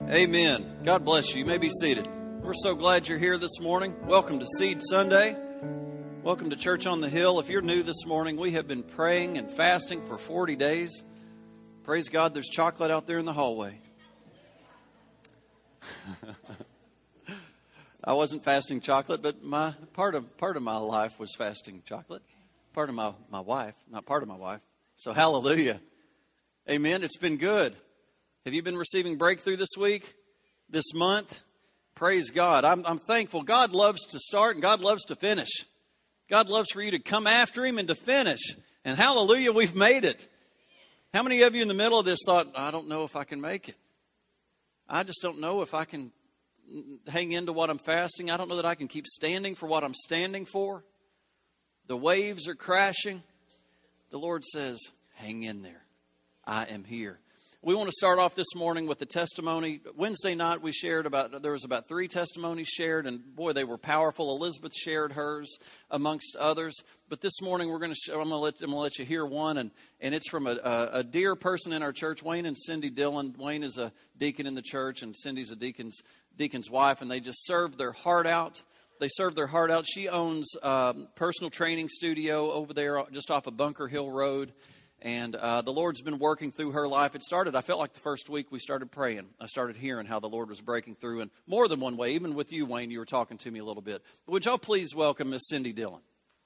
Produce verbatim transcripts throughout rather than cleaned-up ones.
Amen. God bless you. You may be seated. We're so glad you're here this morning. Welcome to Seed Sunday. Welcome to Church on the Hill. If you're new this morning, we have been praying and fasting for forty days. Praise God, there's chocolate out there in the hallway. I wasn't fasting chocolate, but my part of part of my life was fasting chocolate. Part of my, my wife, not part of my wife. So hallelujah. Amen. It's been good. Have you been receiving breakthrough this week, this month? Praise God. I'm, I'm thankful. God loves to start and God loves to finish. God loves for you to come after Him and to finish. And hallelujah, we've made it. How many of you in the middle of this thought, I don't know if I can make it. I just don't know if I can hang into what I'm fasting. I don't know that I can keep standing for what I'm standing for. The waves are crashing. The Lord says, hang in there. I am here. We want to start off this morning with the testimony. Wednesday night we shared about, there was about three testimonies shared, and boy, they were powerful. Elizabeth shared hers amongst others. But this morning we're going to, I'm going to let, I'm going to let you hear one, and, and it's from a, a, a dear person in our church, Wayne and Cindy Dillon. Wayne is a deacon in the church, and Cindy's a deacon's, deacon's wife, and they just served their heart out. They served their heart out. She owns a personal training studio over there just off of Bunker Hill Road. And uh, the Lord's been working through her life. It started, I felt like the first week we started praying. I started hearing how the Lord was breaking through in more than one way. Even with you, Wayne, you were talking to me a little bit. But would y'all please welcome Miss Cindy Dillon.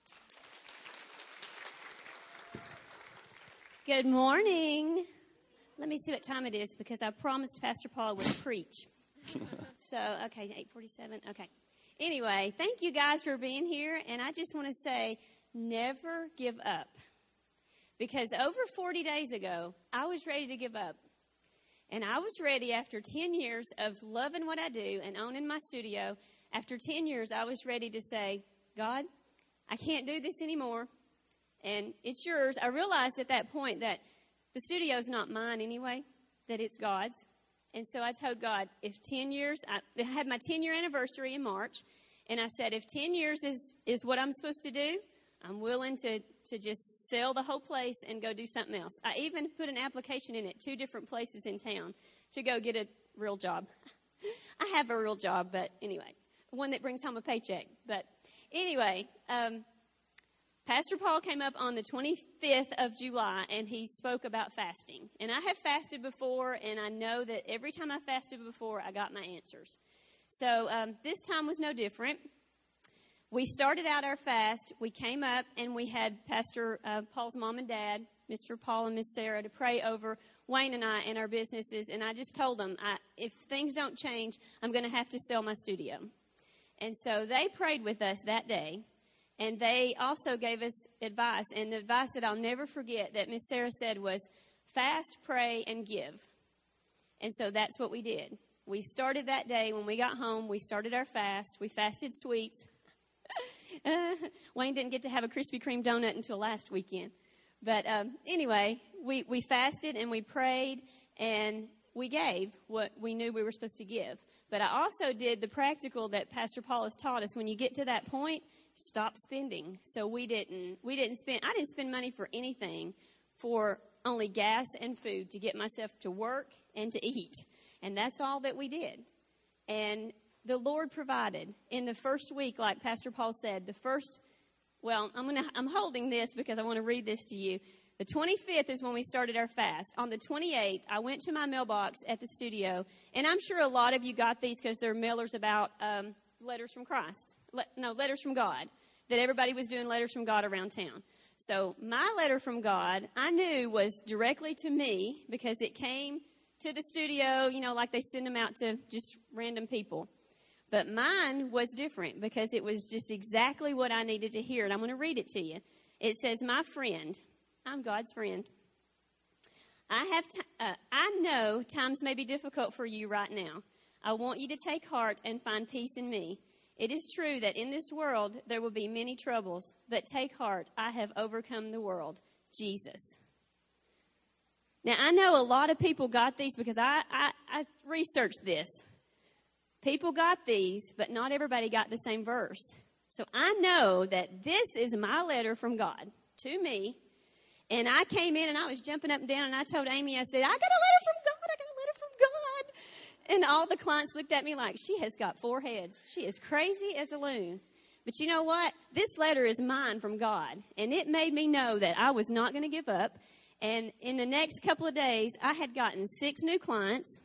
Good morning. Let me see what time it is because I promised Pastor Paul would preach. So, okay, eight forty-seven. Okay. Anyway, thank you guys for being here. And I just want to say, never give up. Because over forty days ago, I was ready to give up. And I was ready after ten years of loving what I do and owning my studio. After ten years, I was ready to say, God, I can't do this anymore. And it's yours. I realized at that point that the studio's not mine anyway, that it's God's. And so I told God, if ten years, I had my ten-year anniversary in March, and I said, if ten years is, is what I'm supposed to do, I'm willing to, to just sell the whole place and go do something else. I even put an application in at two different places in town to go get a real job. I have a real job, but anyway, one that brings home a paycheck. But anyway, um, Pastor Paul came up on the twenty-fifth of July, and he spoke about fasting. And I have fasted before, and I know that every time I fasted before, I got my answers. So um, this time was no different. We started out our fast. We came up, and we had Pastor uh, Paul's mom and dad, Mister Paul and Miss Sarah, to pray over Wayne and I and our businesses. And I just told them, I, if things don't change, I'm going to have to sell my studio. And so they prayed with us that day. And they also gave us advice. And the advice that I'll never forget that Miss Sarah said was, fast, pray, and give. And so that's what we did. We started that day. When we got home, we started our fast. We fasted sweets. uh, Wayne didn't get to have a Krispy Kreme donut until last weekend. But um, anyway, we, we fasted and we prayed and we gave what we knew we were supposed to give. But I also did the practical that Pastor Paul has taught us. When you get to that point, stop spending. So we didn't, we didn't spend, I didn't spend money for anything, for only gas and food to get myself to work and to eat. And that's all that we did. And the Lord provided in the first week, like Pastor Paul said, the first, well, I'm going to, I'm holding this because I want to read this to you. The twenty-fifth is when we started our fast. On the twenty-eighth, I went to my mailbox at the studio, and I'm sure a lot of you got these because they're mailers about um, letters from Christ. Le- no, letters from God, that everybody was doing letters from God around town. So my letter from God, I knew was directly to me because it came to the studio, you know, like they send them out to just random people. But mine was different because it was just exactly what I needed to hear. And I'm going to read it to you. It says, my friend, I'm God's friend. I have, t- uh, I know times may be difficult for you right now. I want you to take heart and find peace in me. It is true that in this world there will be many troubles, but take heart, I have overcome the world. Jesus. Now, I know a lot of people got these because I, I, I researched this. People got these, but not everybody got the same verse. So I know that this is my letter from God to me. And I came in and I was jumping up and down and I told Amy, I said, I got a letter from God. I got a letter from God. And all the clients looked at me like, she has got four heads. She is crazy as a loon. But you know what? This letter is mine from God. And it made me know that I was not going to give up. And in the next couple of days, I had gotten six new clients.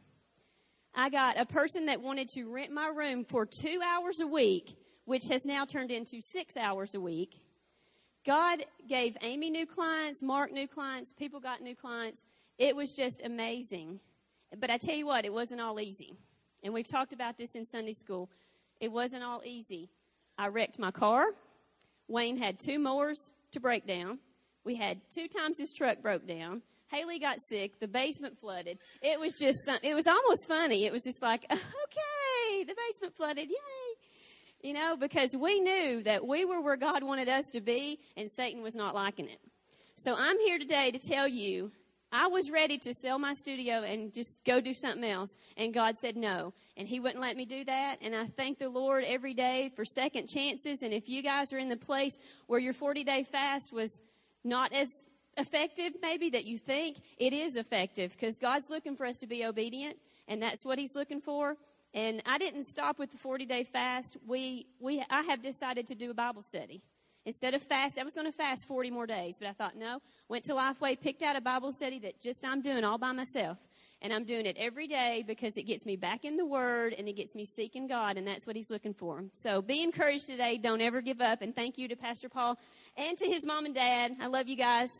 I got a person that wanted to rent my room for two hours a week, which has now turned into six hours a week. God gave Amy new clients, Mark new clients, people got new clients. It was just amazing. But I tell you what, it wasn't all easy. And we've talked about this in Sunday school. It wasn't all easy. I wrecked my car. Wayne had two mowers to break down. We had two times his truck broke down. Haley got sick. The basement flooded. It was just, it was almost funny. It was just like, okay, the basement flooded. Yay. You know, because we knew that we were where God wanted us to be, and Satan was not liking it. So I'm here today to tell you, I was ready to sell my studio and just go do something else. And God said no. And he wouldn't let me do that. And I thank the Lord every day for second chances. And if you guys are in the place where your forty-day fast was not as effective maybe that you think, it is effective, because God's looking for us to be obedient. And that's what he's looking for. And I didn't stop with the forty-day fast. We, we, I have decided to do a Bible study. Instead of fast, I was going to fast forty more days, but I thought, no, went to Lifeway, picked out a Bible study that just I'm doing all by myself. And I'm doing it every day because it gets me back in the Word and it gets me seeking God, and that's what he's looking for. So be encouraged today. Don't ever give up. And thank you to Pastor Paul and to his mom and dad. I love you guys.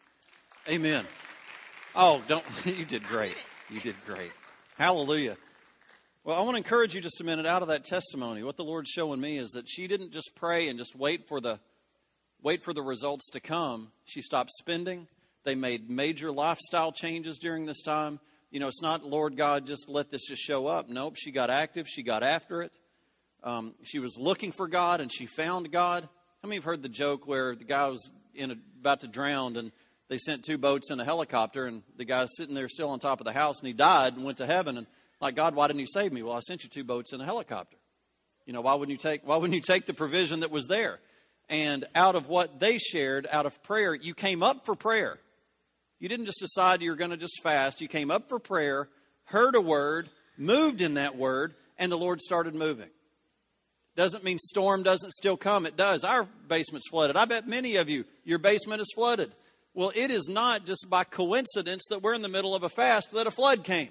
Amen. Oh, don't, you did great. You did great. Hallelujah. Well, I want to encourage you just a minute out of that testimony. What the Lord's showing me is that she didn't just pray and just wait for the wait for the results to come. She stopped spending. They made major lifestyle changes during this time. You know, it's not, Lord God, just let this just show up. Nope, she got active. She got after it. Um, she was looking for God, and she found God. How many have heard the joke where the guy was in a, about to drown, and they sent two boats and a helicopter, and the guy's sitting there still on top of the house, and he died and went to heaven, and like, God, why didn't you save me? Well, I sent you two boats and a helicopter. You know, why wouldn't you take, why wouldn't you take the provision that was there? And out of what they shared, out of prayer, you came up for prayer. You didn't just decide you were going to just fast. You came up for prayer, heard a word, moved in that word, and the Lord started moving. Doesn't mean storm doesn't still come. It does. Our basement's flooded. I bet many of you, your basement is flooded. Well, it is not just by coincidence that we're in the middle of a fast that a flood came.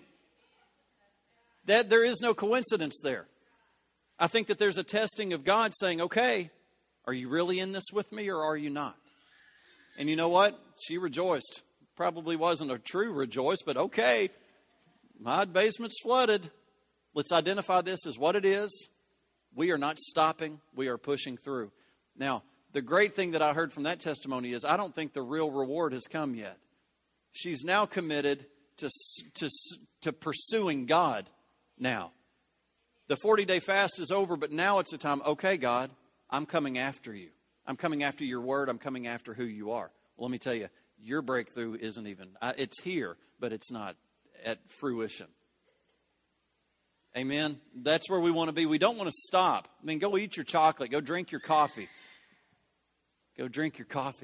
That there is no coincidence there. I think that there's a testing of God saying, okay, are you really in this with me or are you not? And you know what? She rejoiced. Probably wasn't a true rejoice, but okay, my basement's flooded. Let's identify this as what it is. We are not stopping. We are pushing through. Now, the great thing that I heard from that testimony is I don't think the real reward has come yet. She's now committed to, to, to pursuing God. Now, the forty-day fast is over, but now it's the time, okay, God, I'm coming after you. I'm coming after your word. I'm coming after who you are. Well, let me tell you, your breakthrough isn't even, it's here, but it's not at fruition. Amen? That's where we want to be. We don't want to stop. I mean, go eat your chocolate. Go drink your coffee. Go drink your coffee.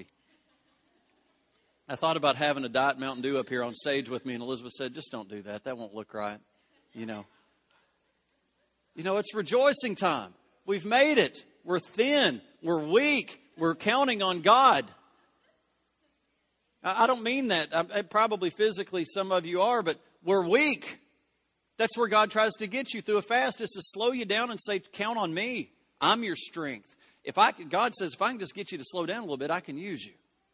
I thought about having a Diet Mountain Dew up here on stage with me, and Elizabeth said, just don't do that. That won't look right, you know. You know, it's rejoicing time. We've made it. We're thin. We're weak. We're counting on God. I don't mean that. I, probably physically some of you are, but we're weak. That's where God tries to get you through a fast, is to slow you down and say, count on me. I'm your strength. If I, God says, if I can just get you to slow down a little bit, I can use you.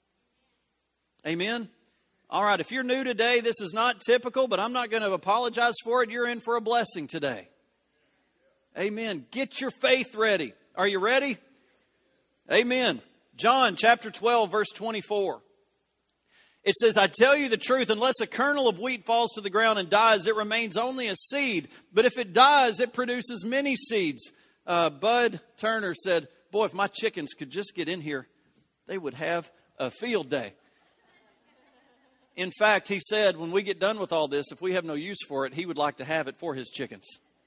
Amen? All right, if you're new today, this is not typical, but I'm not going to apologize for it. You're in for a blessing today. Amen. Get your faith ready. Are you ready? Amen. John chapter twelve, verse twenty-four. It says, I tell you the truth, unless a kernel of wheat falls to the ground and dies, it remains only a seed. But if it dies, it produces many seeds. Uh, Bud Turner said, boy, if my chickens could just get in here, they would have a field day. In fact, he said, when we get done with all this, if we have no use for it, he would like to have it for his chickens.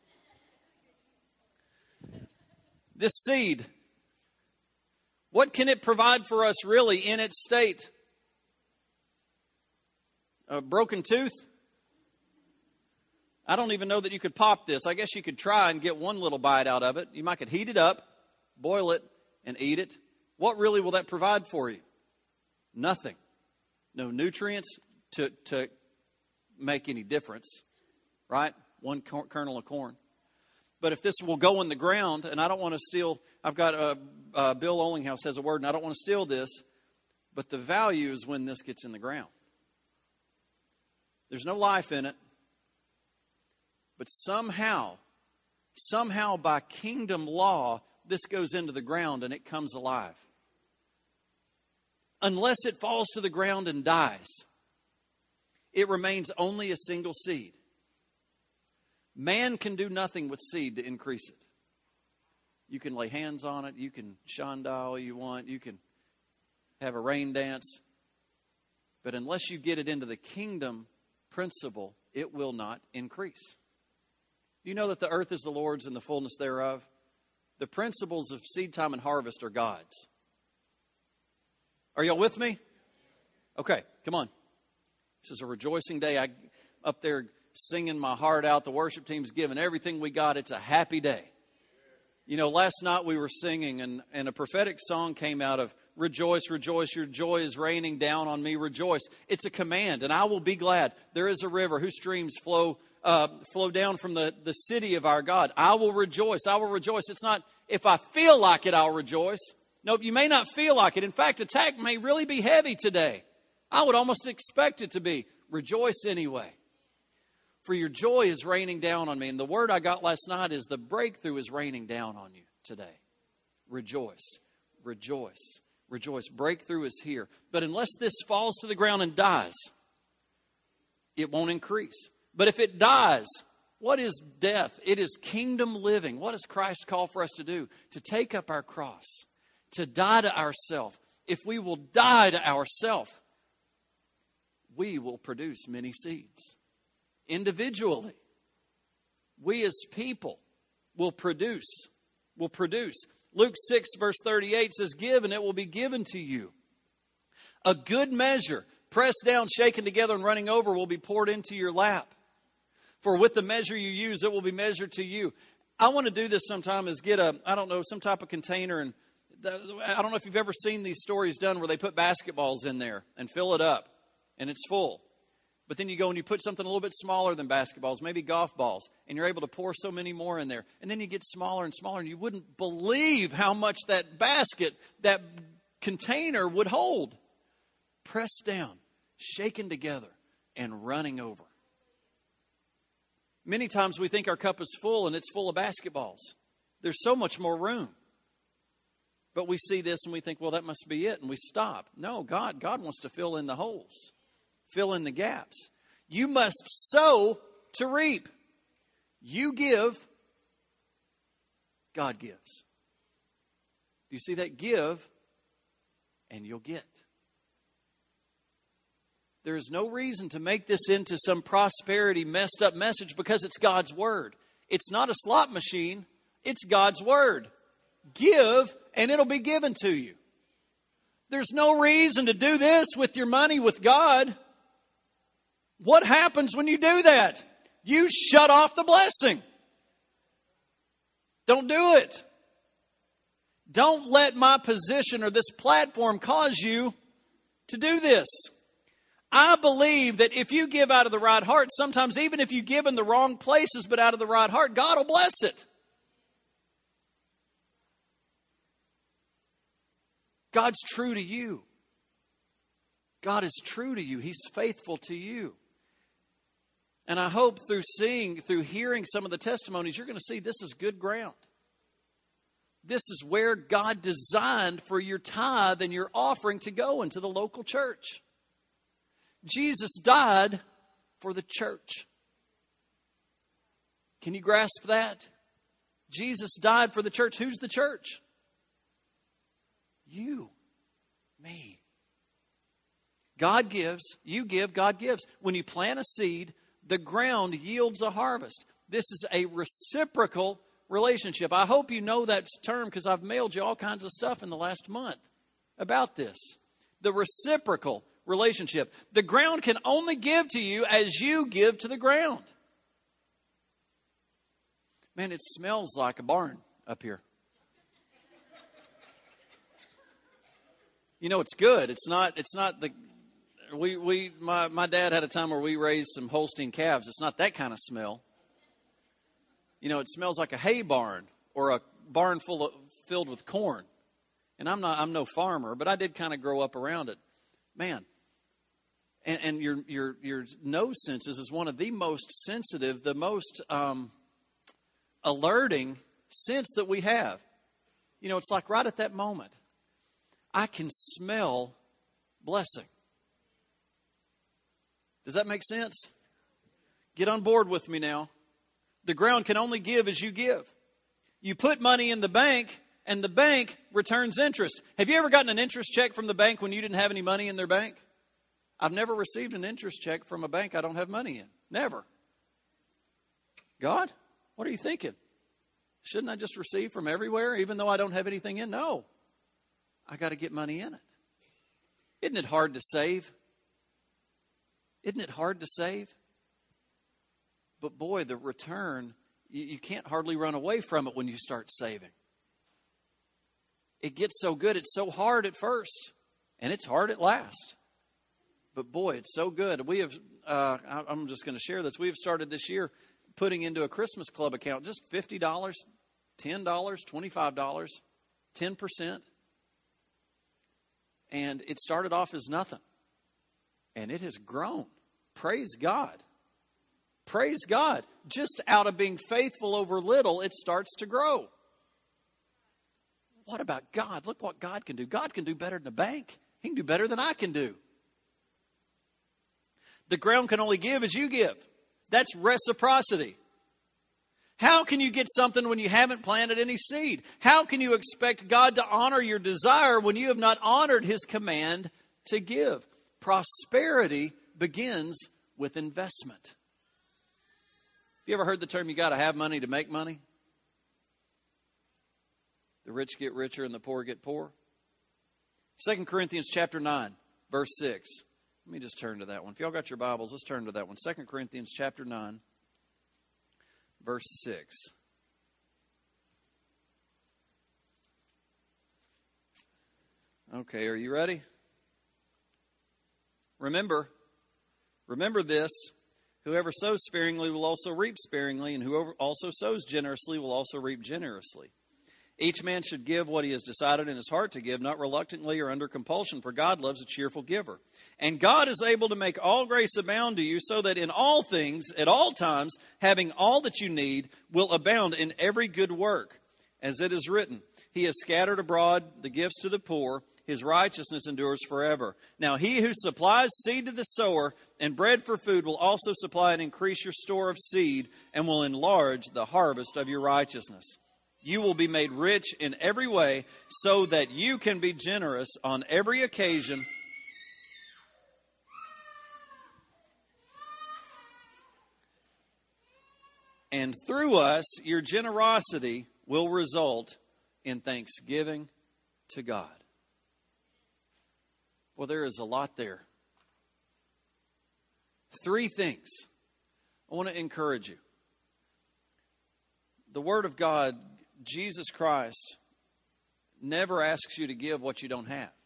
This seed, what can it provide for us really in its state? A broken tooth? I don't even know that you could pop this. I guess you could try and get one little bite out of it. You might could heat it up, boil it, and eat it. What really will that provide for you? Nothing. No nutrients to, to make any difference, right? One kernel of corn. But if this will go in the ground, and I don't want to steal, I've got a, uh, Bill Olinghouse has a word, and I don't want to steal this, but the value is when this gets in the ground. There's no life in it, but somehow, somehow by kingdom law, this goes into the ground and it comes alive. Unless it falls to the ground and dies, it remains only a single seed. Man can do nothing with seed to increase it. You can lay hands on it. You can shanda all you want. You can have a rain dance. But unless you get it into the kingdom principle, it will not increase. You know that the earth is the Lord's and the fullness thereof? The principles of seed time and harvest are God's. Are y'all with me? Okay, come on. This is a rejoicing day. I up there singing my heart out. The worship team's giving everything we got. It's a happy day. You know, last night we were singing and, and a prophetic song came out of rejoice, rejoice, your joy is raining down on me, rejoice. It's a command, and I will be glad. There is a river whose streams flow uh, flow down from the, the city of our God. I will rejoice, I will rejoice. It's not, if I feel like it, I'll rejoice. Nope, you may not feel like it. In fact, attack may really be heavy today. I would almost expect it to be. Rejoice anyway. For your joy is raining down on me. And the word I got last night is the breakthrough is raining down on you today. Rejoice, rejoice, rejoice. Breakthrough is here. But unless this falls to the ground and dies, it won't increase. But if it dies, what is death? It is kingdom living. What does Christ call for us to do? To take up our cross, to die to ourselves. If we will die to ourselves, we will produce many seeds. Individually, we as people will produce, will produce. Luke six verse thirty-eight says, give and it will be given to you. A good measure, pressed down, shaken together and running over will be poured into your lap. For with the measure you use, it will be measured to you. I want to do this sometime is get a, I don't know, some type of container. And I don't know if you've ever seen these stories done where they put basketballs in there and fill it up and it's full. But then you go and you put something a little bit smaller than basketballs, maybe golf balls, and you're able to pour so many more in there. And then you get smaller and smaller, and you wouldn't believe how much that basket, that container would hold. Pressed down, shaken together, and running over. Many times we think our cup is full, and it's full of basketballs. There's so much more room. But we see this, and we think, well, that must be it, and we stop. No, God, God wants to fill in the holes. Fill in the gaps. You must sow to reap. You give, God gives. Do you see that? Give, and you'll get. There is no reason to make this into some prosperity messed up message because it's God's word. It's not a slot machine. It's God's word. Give, and it'll be given to you. There's no reason to do this with your money with God. What happens when you do that? You shut off the blessing. Don't do it. Don't let my position or this platform cause you to do this. I believe that if you give out of the right heart, sometimes even if you give in the wrong places but out of the right heart, God will bless it. God's true to you. God is true to you. He's faithful to you. And I hope through seeing, through hearing some of the testimonies, you're going to see this is good ground. This is where God designed for your tithe and your offering to go into the local church. Jesus died for the church. Can you grasp that? Jesus died for the church. Who's the church? You, me. God gives, you give, God gives. When you plant a seed, the ground yields a harvest. This is a reciprocal relationship. I hope you know that term because I've mailed you all kinds of stuff in the last month about this. The reciprocal relationship. The ground can only give to you as you give to the ground. Man, it smells like a barn up here. You know, it's good. It's not, it's not the, we, we, my, my dad had a time where we raised some Holstein calves. It's not that kind of smell. You know, it smells like a hay barn or a barn full of, filled with corn. And I'm not, I'm no farmer, but I did kind of grow up around it. Man. And, and your, your, your nose senses is one of the most sensitive, the most, um, alerting sense that we have. You know, it's like right at that moment, I can smell blessing. Does that make sense? Get on board with me now. The ground can only give as you give. You put money in the bank, and the bank returns interest. Have you ever gotten an interest check from the bank when you didn't have any money in their bank? I've never received an interest check from a bank I don't have money in. Never. God, what are you thinking? Shouldn't I just receive from everywhere, even though I don't have anything in? No. I got to get money in it. Isn't it hard to save? Isn't it hard to save? But boy, the return, you, you can't hardly run away from it when you start saving. It gets so good. It's so hard at first, and it's hard at last. But boy, it's so good. We have, uh, I'm just going to share this. We have started this year putting into a Christmas club account just fifty dollars, ten dollars, twenty-five dollars, ten percent. And it started off as nothing. And it has grown. Praise God. Praise God. Just out of being faithful over little, it starts to grow. What about God? Look what God can do. God can do better than a bank. He can do better than I can do. The ground can only give as you give. That's reciprocity. How can you get something when you haven't planted any seed? How can you expect God to honor your desire when you have not honored His command to give? Prosperity begins with investment. Have you ever heard the term, you got to have money to make money? The rich get richer and the poor get poor. Second Corinthians chapter nine, verse six. Let me just turn to that one. If y'all got your Bibles, let's turn to that one. Second Corinthians chapter nine, verse six. Okay, are you ready? Remember, remember this. Whoever sows sparingly will also reap sparingly, and whoever also sows generously will also reap generously. Each man should give what he has decided in his heart to give, not reluctantly or under compulsion, for God loves a cheerful giver. And God is able to make all grace abound to you, so that in all things, at all times, having all that you need, will abound in every good work. As it is written, He has scattered abroad the gifts to the poor, His righteousness endures forever. Now he who supplies seed to the sower and bread for food will also supply and increase your store of seed, and will enlarge the harvest of your righteousness. You will be made rich in every way, so that you can be generous on every occasion. And through us, your generosity will result in thanksgiving to God. Well, there is a lot there. Three things I want to encourage you. The Word of God, Jesus Christ, never asks you to give what you don't have.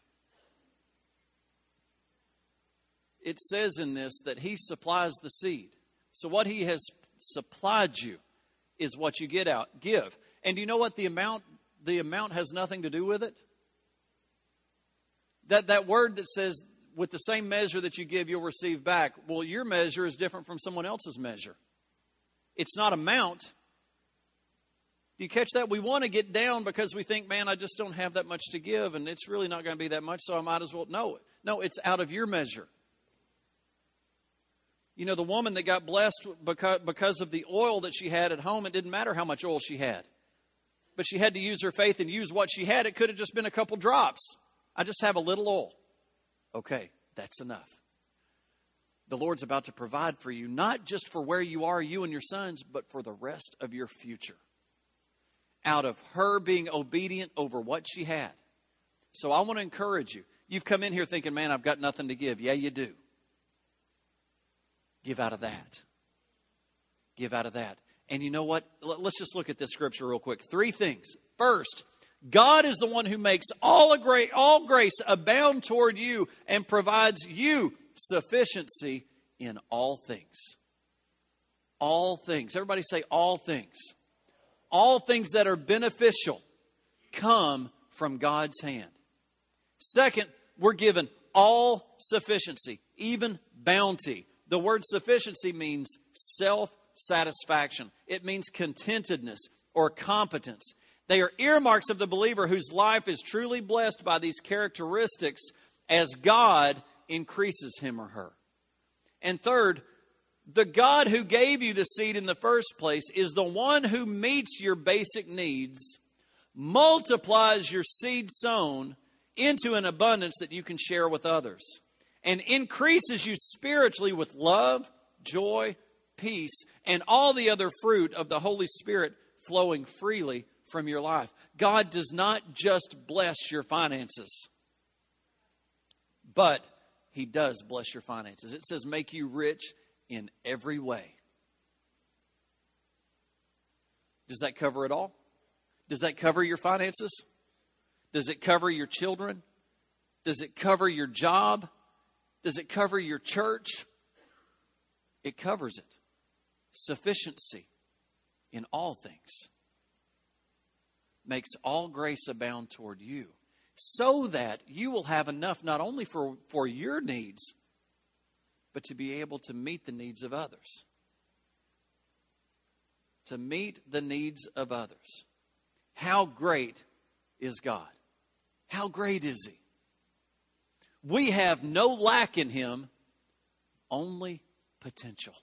It says in this that He supplies the seed. So what He has supplied you is what you get out. Give. And you know what? The amount, the amount has nothing to do with it. That, that word that says, with the same measure that you give, you'll receive back. Well, your measure is different from someone else's measure. It's not amount. Do you catch that? We want to get down because we think, man, I just don't have that much to give, and it's really not going to be that much, so I might as well. No, no, it's out of your measure. You know, the woman that got blessed because, because of the oil that she had at home, it didn't matter how much oil she had. But she had to use her faith and use what she had. It could have just been a couple drops. I just have a little oil. Okay, that's enough. The Lord's about to provide for you, not just for where you are, you and your sons, but for the rest of your future. Out of her being obedient over what she had. So I want to encourage you. You've come in here thinking, man, I've got nothing to give. Yeah, you do. Give out of that. Give out of that. And you know what? Let's just look at this scripture real quick. Three things. First, God is the one who makes all, a great, all grace abound toward you and provides you sufficiency in all things. All things. Everybody say all things. All things that are beneficial come from God's hand. Second, we're given all sufficiency, even bounty. The word sufficiency means self-satisfaction. It means contentedness or competence. They are earmarks of the believer whose life is truly blessed by these characteristics as God increases him or her. And third, the God who gave you the seed in the first place is the one who meets your basic needs, multiplies your seed sown into an abundance that you can share with others, and increases you spiritually with love, joy, peace, and all the other fruit of the Holy Spirit flowing freely from your life. God does not just bless your finances, but He does bless your finances. It says make you rich in every way. Does that cover it all? Does that cover your finances? Does it cover your children? Does it cover your job? Does it cover your church? It covers it. Sufficiency in all things makes all grace abound toward you, so that you will have enough not only for, for your needs, but to be able to meet the needs of others. To meet the needs of others. How great is God? How great is He? We have no lack in Him, only potential.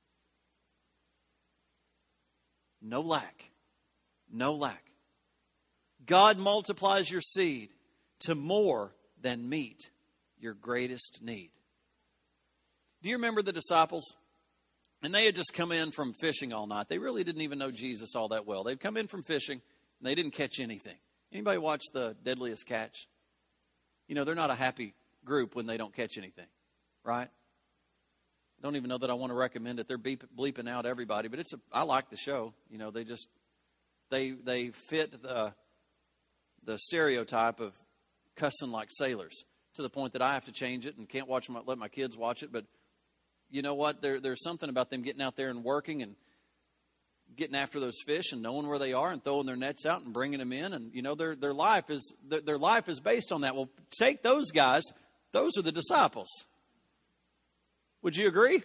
No lack. No lack. God multiplies your seed to more than meet your greatest need. Do you remember the disciples? And they had just come in from fishing all night. They really didn't even know Jesus all that well. They'd come in from fishing and they didn't catch anything. Anybody watch The Deadliest Catch? You know, they're not a happy group when they don't catch anything, right? I don't even know that I want to recommend it. They're beep, bleeping out everybody, but it's a, I like the show. You know, they just, they they fit the the stereotype of cussing like sailors to the point that I have to change it and can't watch my, let my kids watch it. But you know what? There, there's something about them getting out there and working and getting after those fish and knowing where they are and throwing their nets out and bringing them in. And, you know, their their life is their, their life is based on that. Well, take those guys. Those are the disciples. Would you agree?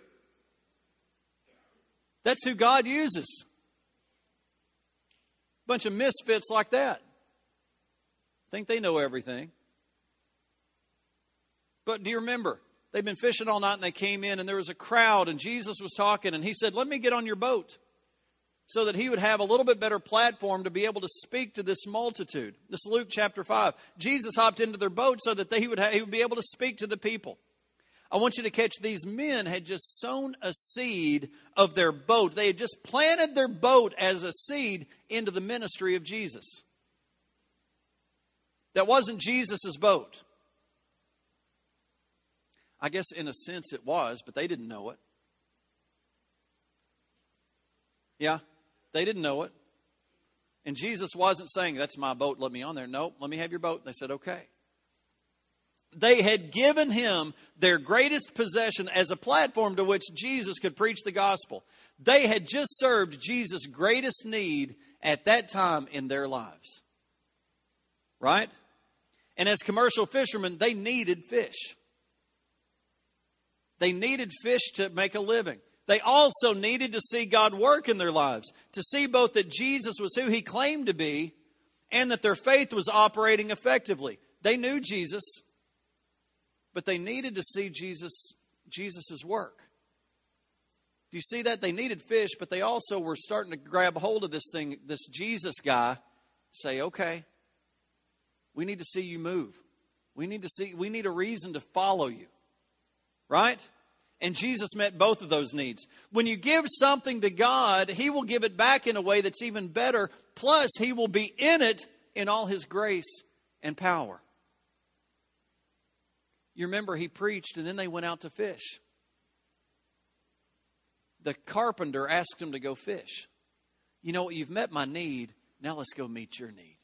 That's who God uses. Bunch of misfits like that. Think they know everything. But do you remember? They've been fishing all night and they came in and there was a crowd and Jesus was talking and He said, let me get on your boat, so that He would have a little bit better platform to be able to speak to this multitude. This is Luke chapter five. Jesus hopped into their boat so that they would, have, he would be able to speak to the people. I want you to catch, these men had just sown a seed of their boat. They had just planted their boat as a seed into the ministry of Jesus. That wasn't Jesus' boat. I guess in a sense it was, but they didn't know it. Yeah, they didn't know it. And Jesus wasn't saying, that's my boat, let me on there. No, let me have your boat. They said, okay. They had given Him their greatest possession as a platform to which Jesus could preach the gospel. They had just served Jesus' greatest need at that time in their lives. Right? And as commercial fishermen, they needed fish. They needed fish to make a living. They also needed to see God work in their lives, to see both that Jesus was who He claimed to be and that their faith was operating effectively. They knew Jesus, but they needed to see Jesus, Jesus's work. Do you see that? They needed fish, but they also were starting to grab hold of this thing, this Jesus guy, say, okay, we need to see you move. We need to see, we need a reason to follow you. Right? And Jesus met both of those needs. When you give something to God, He will give it back in a way that's even better. Plus, He will be in it in all His grace and power. You remember He preached and then they went out to fish. The carpenter asked him to go fish. You know what? You've met my need. Now let's go meet your need.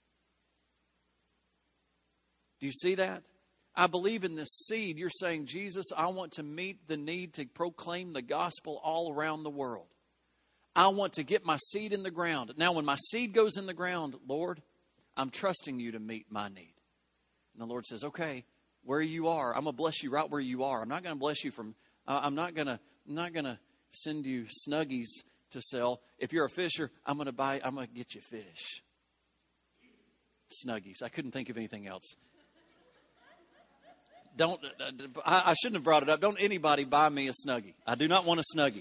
Do you see that? I believe in this seed. You're saying, Jesus, I want to meet the need to proclaim the gospel all around the world. I want to get my seed in the ground. Now, when my seed goes in the ground, Lord, I'm trusting you to meet my need. And the Lord says, okay, where you are, I'm going to bless you right where you are. I'm not going to bless you from, uh, I'm not going to, I'm not going to send you Snuggies to sell. If you're a fisher, I'm going to buy, I'm going to get you fish. Snuggies. I couldn't think of anything else. Don't, I, I shouldn't have brought it up. Don't anybody buy me a Snuggie. I do not want a Snuggie.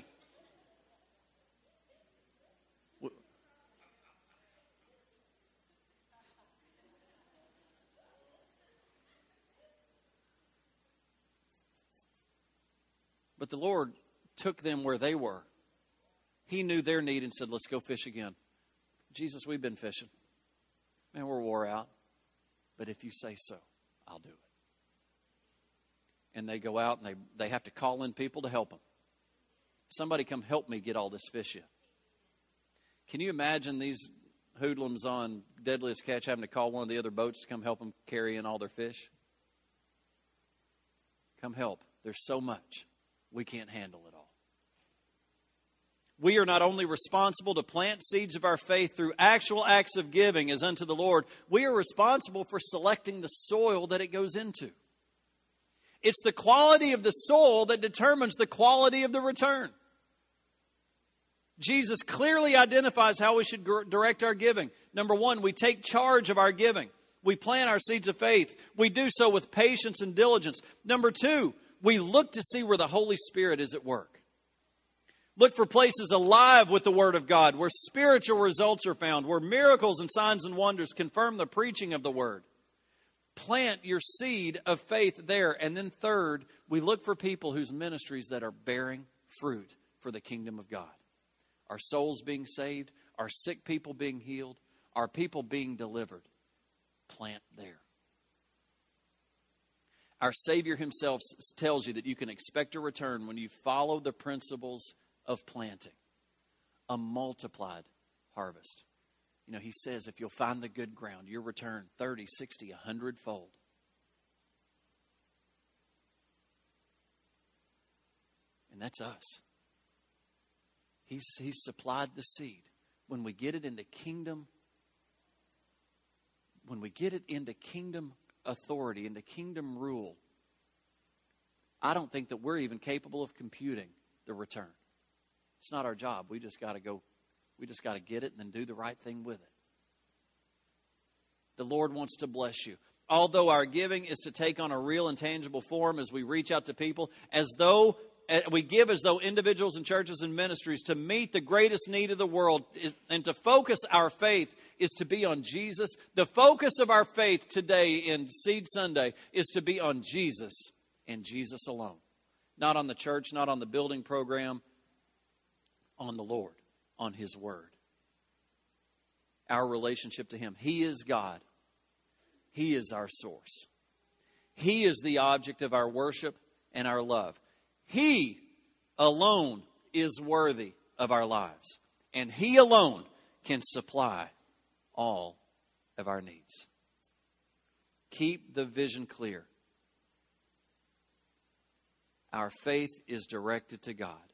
But the Lord took them where they were. He knew their need and said, let's go fish again. Jesus, we've been fishing. Man, we're wore out. But if you say so, I'll do it. And they go out and they, they have to call in people to help them. Somebody come help me get all this fish in. Can you imagine these hoodlums on Deadliest Catch having to call one of the other boats to come help them carry in all their fish? Come help. There's so much. We can't handle it all. We are not only responsible to plant seeds of our faith through actual acts of giving as unto the Lord, we are responsible for selecting the soil that it goes into. It's the quality of the soil that determines the quality of the return. Jesus clearly identifies how we should direct our giving. Number one, we take charge of our giving. We plant our seeds of faith. We do so with patience and diligence. Number two, we look to see where the Holy Spirit is at work. Look for places alive with the Word of God, where spiritual results are found, where miracles and signs and wonders confirm the preaching of the Word. Plant your seed of faith there. And then third, we look for people whose ministries that are bearing fruit for the kingdom of God. Our souls being saved, our sick people being healed, our people being delivered. Plant there. Our Savior himself tells you that you can expect a return when you follow the principles of planting. A multiplied harvest. You know, he says if you'll find the good ground, you'll return thirty, sixty, a hundred fold. And that's us. He's, he's supplied the seed. When we get it into kingdom, when we get it into kingdom authority, into kingdom rule, I don't think that we're even capable of computing the return. It's not our job. We just got to go, we just got to get it and then do the right thing with it. The Lord wants to bless you. Although our giving is to take on a real and tangible form as we reach out to people, as though we give as though individuals and churches and ministries to meet the greatest need of the world is, and to focus our faith is to be on Jesus. The focus of our faith today in Seed Sunday is to be on Jesus and Jesus alone. Not on the church, not on the building program, on the Lord, on His Word. Our relationship to Him. He is God. He is our source. He is the object of our worship and our love. He alone is worthy of our lives. And He alone can supply all of our needs. Keep the vision clear. Our faith is directed to God.